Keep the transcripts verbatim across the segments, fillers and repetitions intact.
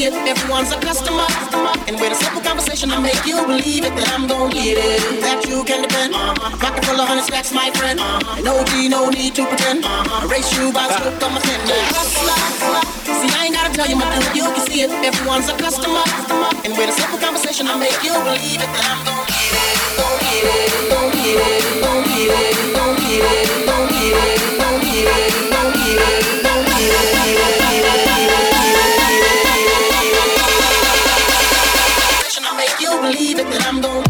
see it, everyone's a customer. And with a simple conversation, I make you believe it that I'm gon' get it. That you can depend. Pocket full of honey stacks, my friend. No D, no need to pretend. I race you by the scope of my pen. See, I ain't gotta tell you, my dude, you can see it, everyone's a customer. And with a simple conversation, I make you believe it that I'm gon' get it. Gon' get it, gon' get it, gon' get it, gon' get it, gon' get it, gon' get it, gon' get it, gon' get it. You believe it that I'm gon'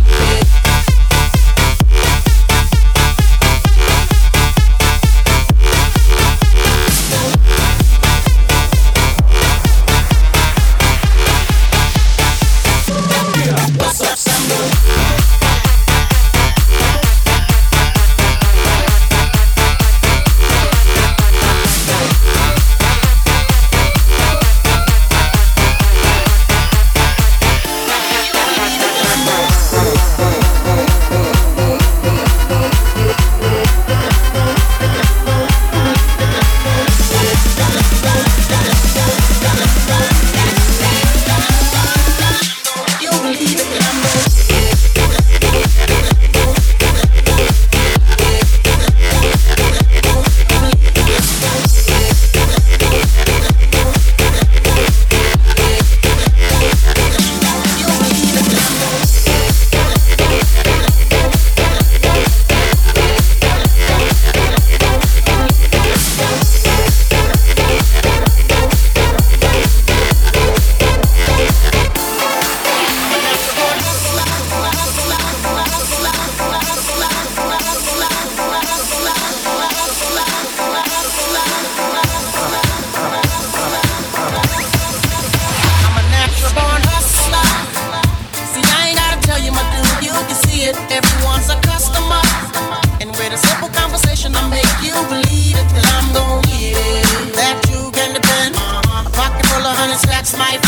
my